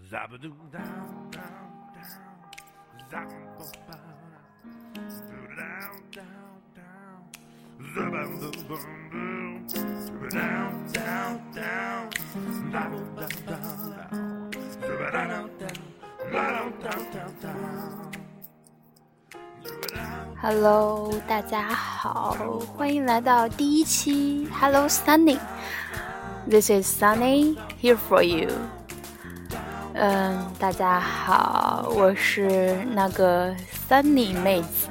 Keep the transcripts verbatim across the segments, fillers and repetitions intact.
Hello， 大家好，欢迎来到第一期 Hello Sunny。 This is Sunny here for you。 嗯，大家好，我是那个 Sunny 妹子。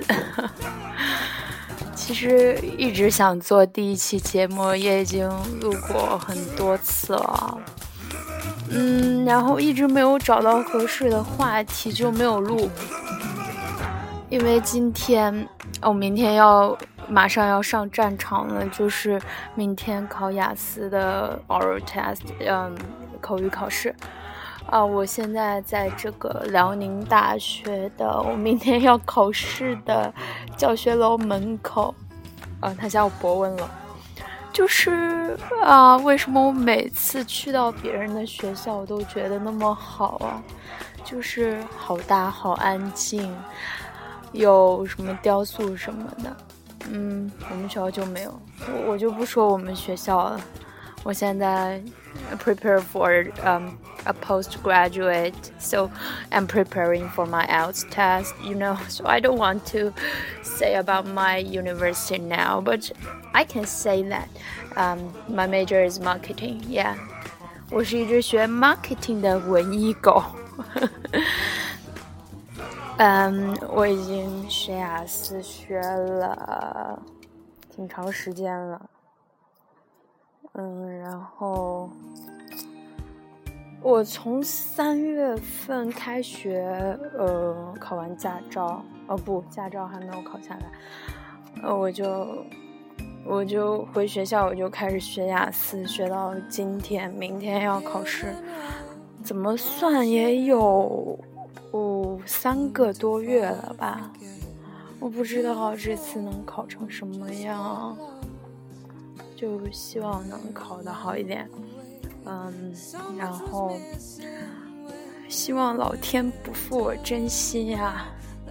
其实一直想做第一期节目，也已经录过很多次了。嗯，然后一直没有找到合适的话题，就没有录。因为今天我、哦、明天要马上要上战场了，就是明天考雅思的 oral test， 嗯，口语考试啊。我现在在这个辽宁大学的我明天要考试的教学楼门口，啊，他叫博文楼。就是啊，为什么我每次去到别人的学校我都觉得那么好啊？就是好大好安静，有什么雕塑什么的。嗯，我们学校就没有。我我就不说我们学校了。我现在 prepare for um a postgraduate, so I'm preparing for my I E L T S test, you know, so I don't want to say about my university now, but I can say that um my major is marketing. Yeah, 我是一只学 marketing 的文艺狗。嗯，我已经学雅思学了挺长时间了。嗯，然后我从三月份开学，呃，考完驾照，哦不，驾照还没有考下来，呃，我就我就回学校，我就开始学雅思，学到今天，明天要考试，怎么算也有哦三个多月了吧？我不知道这次能考成什么样，就希望能考得好一点。嗯，然后希望老天不负我真心呀。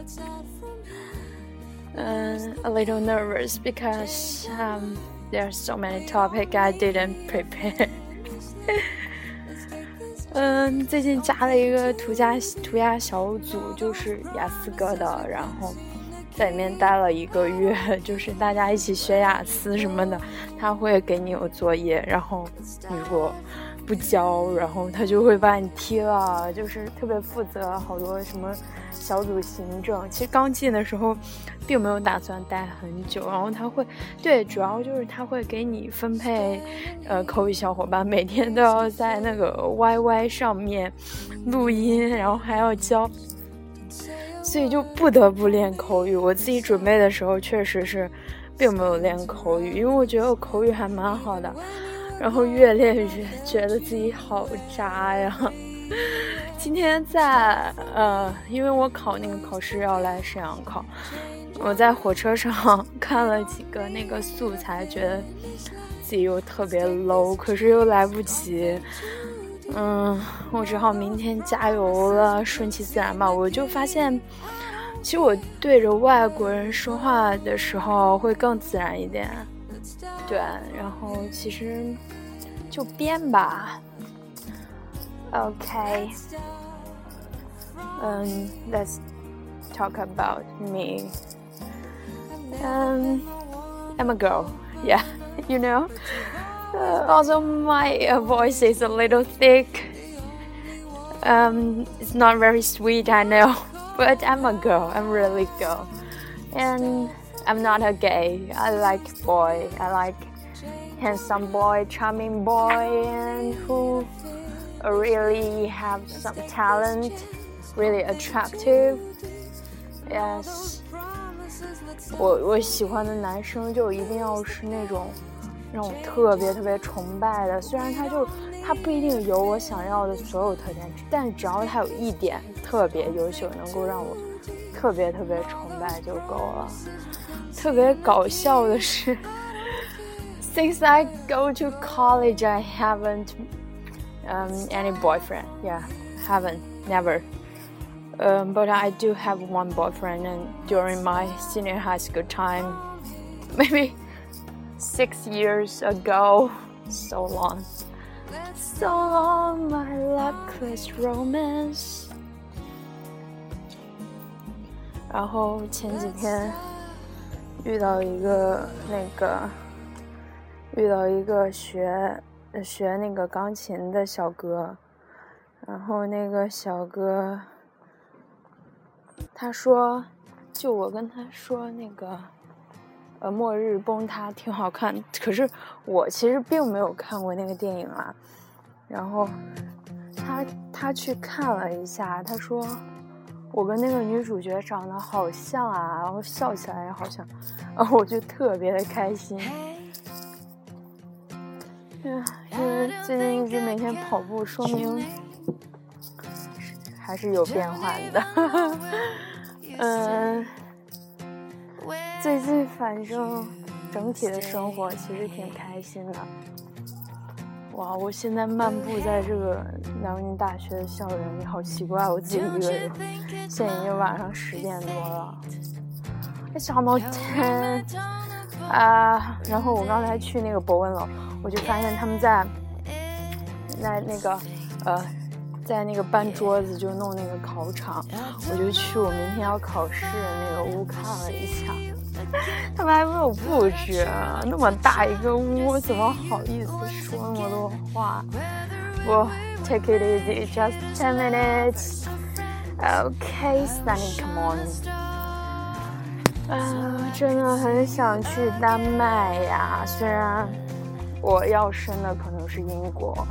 嗯 a little nervous because um there are so many topics I didn't prepare 嗯，最近加了一个涂鸦涂鸦小组，就是雅思哥的，然后在里面待了一个月，就是大家一起学雅思什么的，他会给你有作业，然后你如果不交，然后他就会把你踢了，就是特别负责，好多什么小组行政。其实刚进的时候并没有打算待很久，然后他会对主要就是他会给你分配呃口语小伙伴，每天都要在那个 Y Y 上面录音，然后还要教，所以就不得不练口语。我自己准备的时候确实是并没有练口语，因为我觉得我口语还蛮好的，然后越练越觉得自己好渣呀。今天在呃，因为我考那个考试要来沈阳考，我在火车上看了几个那个素材，觉得自己又特别 low， 可是又来不及。嗯，我只好明天加油了，顺其自然吧。我就发现其实我对着外国人说话的时候会更自然一点，对，然后其实就编吧。 OK， um, let's talk about me. um, I'm a girl, yeah, you know. Uh, also my uh, voice is a little thick. Um, it's not very sweet, I know, but I'm a girl, I'm really a girl. And I'm not a gay, I like boy, I like handsome boy, charming boy, and who really have some talent, really attractive. Yes, 我我喜欢的男生就一定要是那种让我特别特别崇拜的，虽然他就他不一定有我想要的所有特点，但只要他有一点特别优秀，能够让我特别特别崇拜就够了。特别搞笑的是 since I go to college I haven't um, any boyfriend. Yeah, haven't, never. Um, but I do have one boyfriend, and during my senior high school time, maybe six years ago, so long, so long, my luckless romance. 然后前几天遇到一个那个遇到一个学学那个钢琴的小哥，然后那个小哥他说，就我跟他说那个呃末日崩塌挺好看，可是我其实并没有看过那个电影啊。然后他他去看了一下，他说我跟那个女主角长得好像啊，然后笑起来也好像，然后我就特别的开心。嗯，因为最近一直每天跑步，说明还是有变化的。嗯，最近反正整体的生活其实挺开心的。哇，我现在漫步在这个辽宁大学的校园里，好奇怪，我自己一个人。现在已经晚上十点多了。It's almost ten 啊，然后我刚才去那个博文楼，我就发现他们在在那个呃。在那个搬桌子就弄那个考场，我就去我明天要考试的那个屋看了一下，他们还没有布置，那么大一个屋，怎么好意思说那么多话？我 take it easy, just ten minutes. Okay, Sunny, come on. 啊，真的很想去丹麦呀，虽然我要升的可能是英国。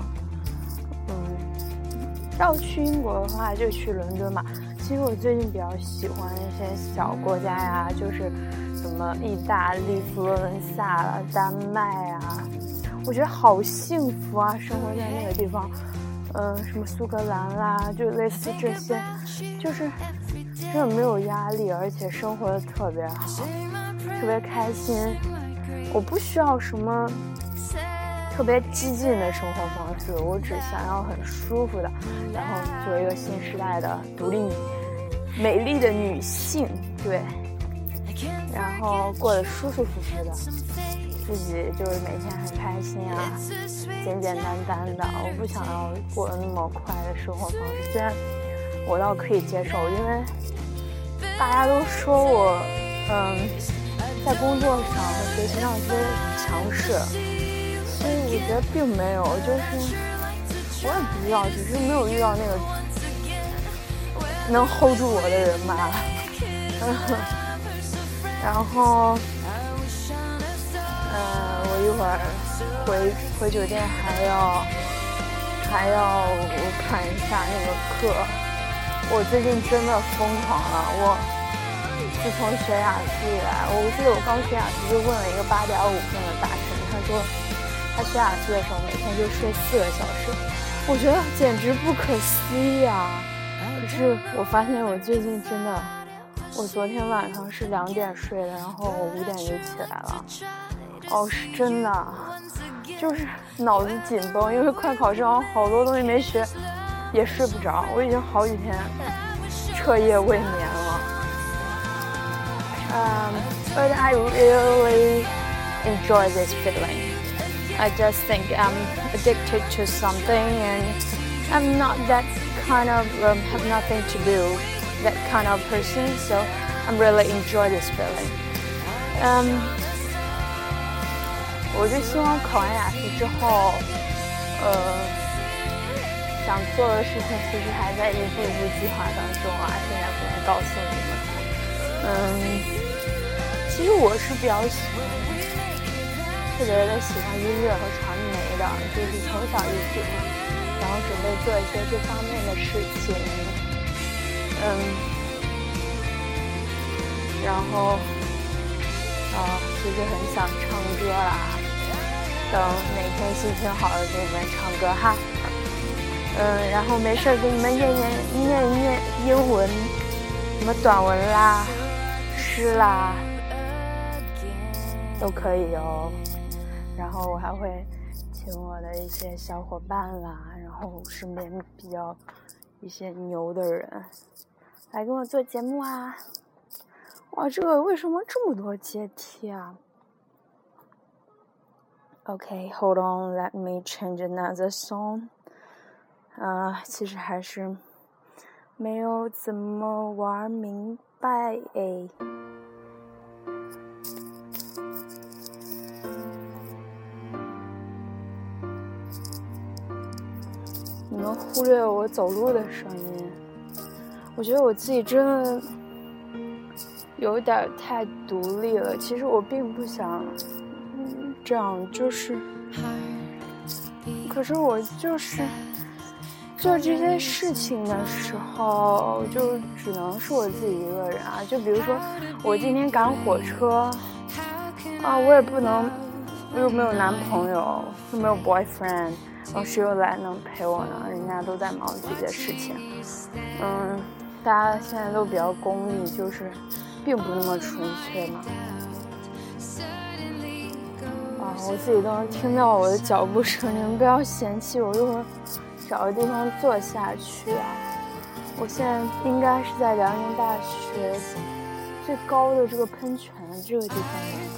要去英国的话就去伦敦嘛。其实我最近比较喜欢一些小国家呀，就是什么意大利、佛罗伦萨啦、丹麦啊，我觉得好幸福啊，生活在那个地方。嗯、呃，什么苏格兰啦，就类似这些，就是真的没有压力，而且生活的特别好，特别开心。我不需要什么特别激进的生活方式，我只想要很舒服的，然后做一个新时代的独立美丽的女性，对，然后过得舒舒服服的，自己就是每天很开心啊，简简单单的。我不想要过得那么快的生活方式，虽然我倒可以接受，因为大家都说我嗯在工作上和学习上特别强势，所以我觉得并没有，就是我也不知道，只是没有遇到那个能 hold 住我的人吧。然后，嗯、呃，我一会儿回回酒店还要还要看一下那个课。我最近真的疯狂了，我自从学雅思以来，我记得我刚学雅思就问了一个八点五分的大神，他说他学雅思的时候每天就睡四个小时，我觉得简直不可思议啊！可是我发现我最近真的，我昨天晚上是两点睡的，然后我五点就起来了。哦，是真的，就是脑子紧绷，因为快考试，好多东西没学，也睡不着。我已经好几天彻夜未眠了。Um, but I really enjoy this feeling. I just think I'm addicted to something, and I'm not that kind of um, have nothing to do that kind of person. So I'm really enjoy this feeling. Um, 我就希望考完雅思之后，呃，想做的事情其实还在一步一步计划当中啊，现在不能告诉你们。嗯。其实我是比较喜欢，特别的喜欢音乐和传媒的，就是从小就喜欢，然后准备做一些这方面的事情，嗯，然后啊，其实很想唱歌啦，等哪天心情好了给你们唱歌哈，嗯，然后没事给你们念念念一念英文，什么短文啦、诗啦。都可以哦，然后我还会请我的一些小伙伴啦，然后身边比较一些牛的人来跟我做节目啊。哇，这个为什么这么多阶梯啊？ Okay, hold on, let me change another song. 啊、呃，其实还是没有怎么玩明白诶。你们忽略我走路的声音，我觉得我自己真的有点太独立了。其实我并不想这样，就是可是我就是做这些事情的时候就只能是我自己一个人啊。就比如说我今天赶火车啊，我也不能，我又没有男朋友，又没有 boyfriend， 然后谁又来能陪我呢？人家都在忙自己的事情。嗯，大家现在都比较功利，就是并不那么纯粹嘛。啊，我自己都能听到我的脚步声，你们不要嫌弃我，一会儿找个地方坐下去啊。我现在应该是在辽宁大学最高的这个喷泉的这个地方。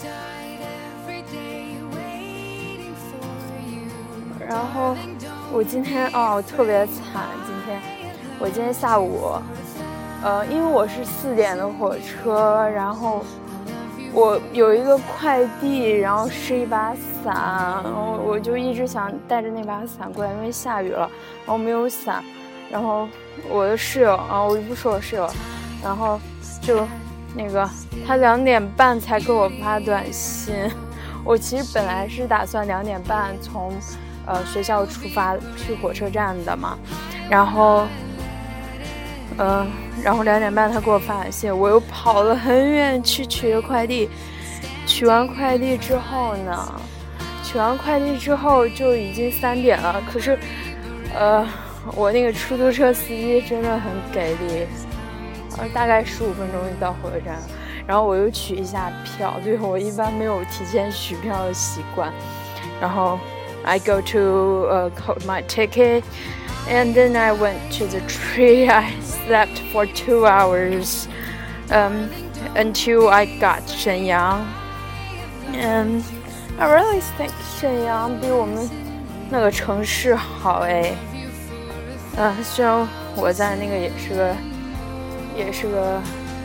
然后我今天哦特别惨，今天我今天下午，呃，因为我是四点的火车，然后我有一个快递，然后是一把伞，然后我就一直想带着那把伞过来，因为下雨了，然后没有伞，然后我的室友啊，我就不说我室友，然后就那个他两点半才给我发短信，我其实本来是打算两点半从呃学校出发去火车站的嘛，然后嗯、呃，然后两点半他给我发短信，我又跑了很远去取了快递，取完快递之后呢，取完快递之后就已经三点了，可是呃我那个出租车司机真的很给力，呃大概十五分钟就到火车站了，然后我又取一下票，对，我一般没有提前取票的习惯，然后 I go to uh, code my ticket and then I went to the tree. I slept for two hours um, until I got Shenyang. And I really think 沈阳比我们那个城市好哎。嗯、呃，虽然我在那个也是个也是个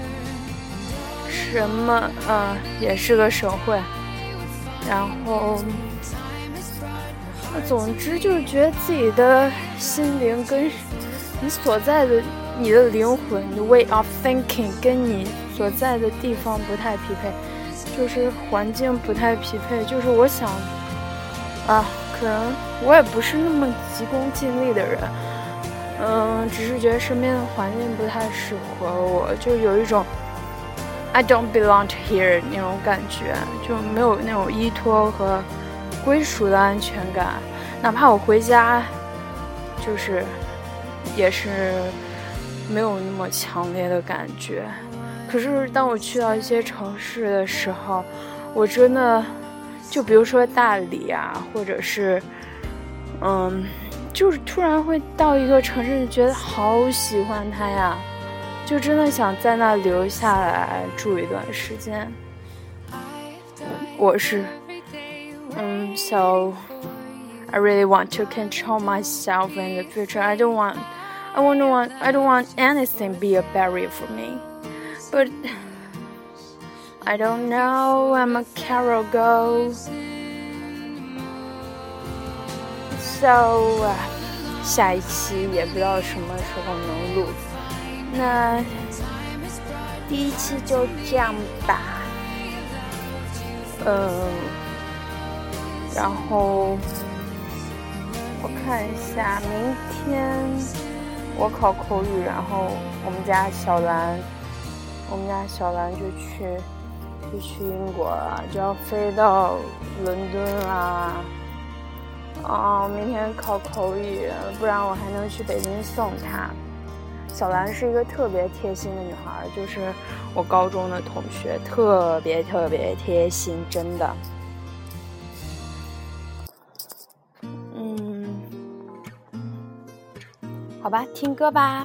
什么呃也是个省会，然后总之就是觉得自己的心灵跟你所在的你的灵魂，你的 way of thinking 跟你所在的地方不太匹配，就是环境不太匹配，就是我想啊，可能我也不是那么急功近利的人，嗯，只是觉得身边的环境不太适合我，就有一种 I don't belong to here 那种感觉，就没有那种依托和归属的安全感，哪怕我回家就是也是没有那么强烈的感觉。可是当我去到一些城市的时候，我真的就比如说大理啊，或者是嗯就是突然会到一个城市觉得好喜欢它呀，就真的想在那留下来住一段时间。我是Um, so I really want to control myself in the future. I don't want, I won't want, I don't want anything be a barrier for me. But I don't know. I'm a Carol girl. So 下一期也不知道什么时候能录。那第一期就这样吧。嗯。然后我看一下，明天我考口语，然后我们家小兰，我们家小兰就去就去英国了，就要飞到伦敦啦。啊，明天考口语，不然我还能去北京送她。小兰是一个特别贴心的女孩，就是我高中的同学，特别特别贴心，真的。好好吧，听歌吧。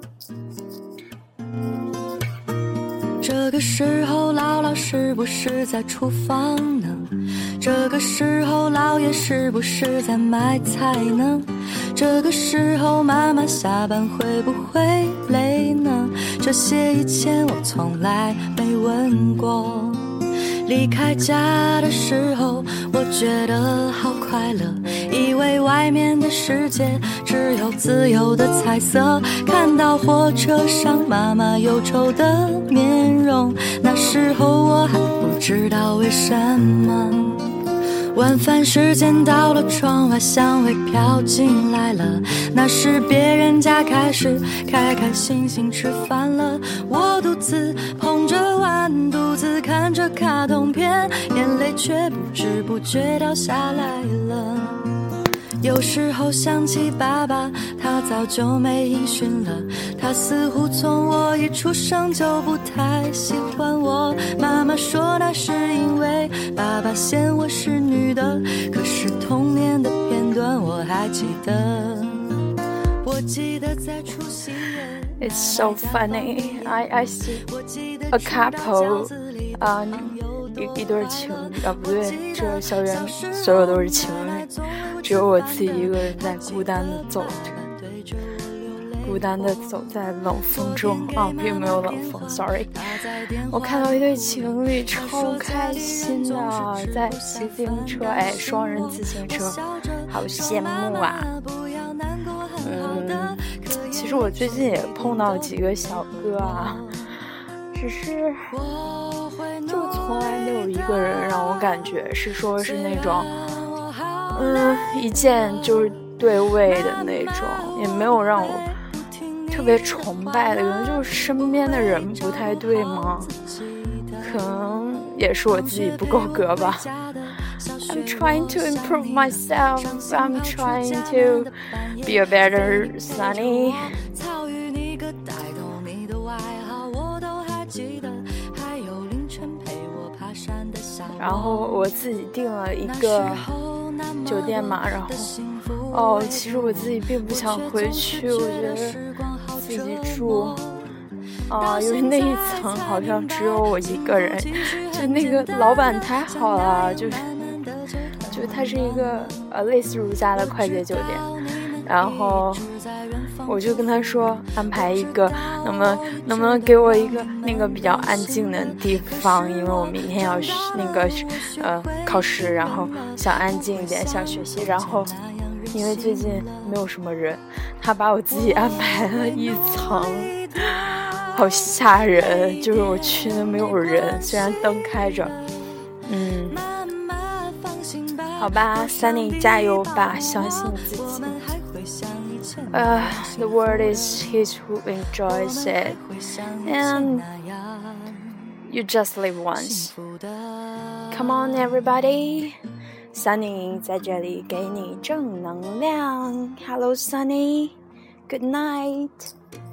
这个时候姥姥是不是在厨房呢？这个时候姥爷是不是在买菜呢？这个时候妈妈下班会不会累呢？这些以前我从来没问过。离开家的时候我觉得好快乐，以为外面的世界只有自由的彩色，看到火车上妈妈忧愁的面容，那时候我还不知道为什么。晚饭时间到了，窗外香味飘进来了，那是别人家开始开开心心吃饭了。我独自捧着碗，独自看着卡通片，眼泪却不知不觉掉下来了。有时候想起爸爸，他早就没音讯了，他似乎从我一出生就不太喜欢我。妈妈说那是因为爸爸嫌我是女的，可是童年的片段我还记得。我记得在除夕夜 It's so funny. I I see a couple, 啊、uh, 一一对情侣啊，不对，这校园所有都是情侣，只有我自己一个人在孤单的走着，孤单的走在冷风中啊，并没有冷风 ，sorry。我看到一对情侣超开心的，在骑自行车，哎，双人自行车，好羡慕啊。嗯，其实我最近也碰到几个小哥啊，只是就从来没有一个人让我感觉是说是那种嗯一见就是对位的那种，也没有让我特别崇拜的，可能就是身边的人不太对吗？可能也是我自己不够格吧。I'm trying to improve myself. I'm trying to be a better Sunny. 然后我自己订了一个酒店嘛，然后哦，其实我自己并不想回去，我觉得自己住啊，因为那一层好像只有我一个人，就那个老板太好了，就是就它是一个呃类似如家的快捷酒店，然后我就跟他说安排一个，能不能能不能给我一个那个比较安静的地方，因为我明天要那个呃考试，然后想安静一点，想学习，然后因为最近没有什么人，他把我自己安排了一层，好吓人，就是我去的没有人，虽然灯开着，嗯，好吧 Sunny 加油吧，相信自己。Uh, the world is his who enjoys it, and you just live once. Come on, everybody. Sunny 在这里给你正能量。Hello, Sunny. Good night.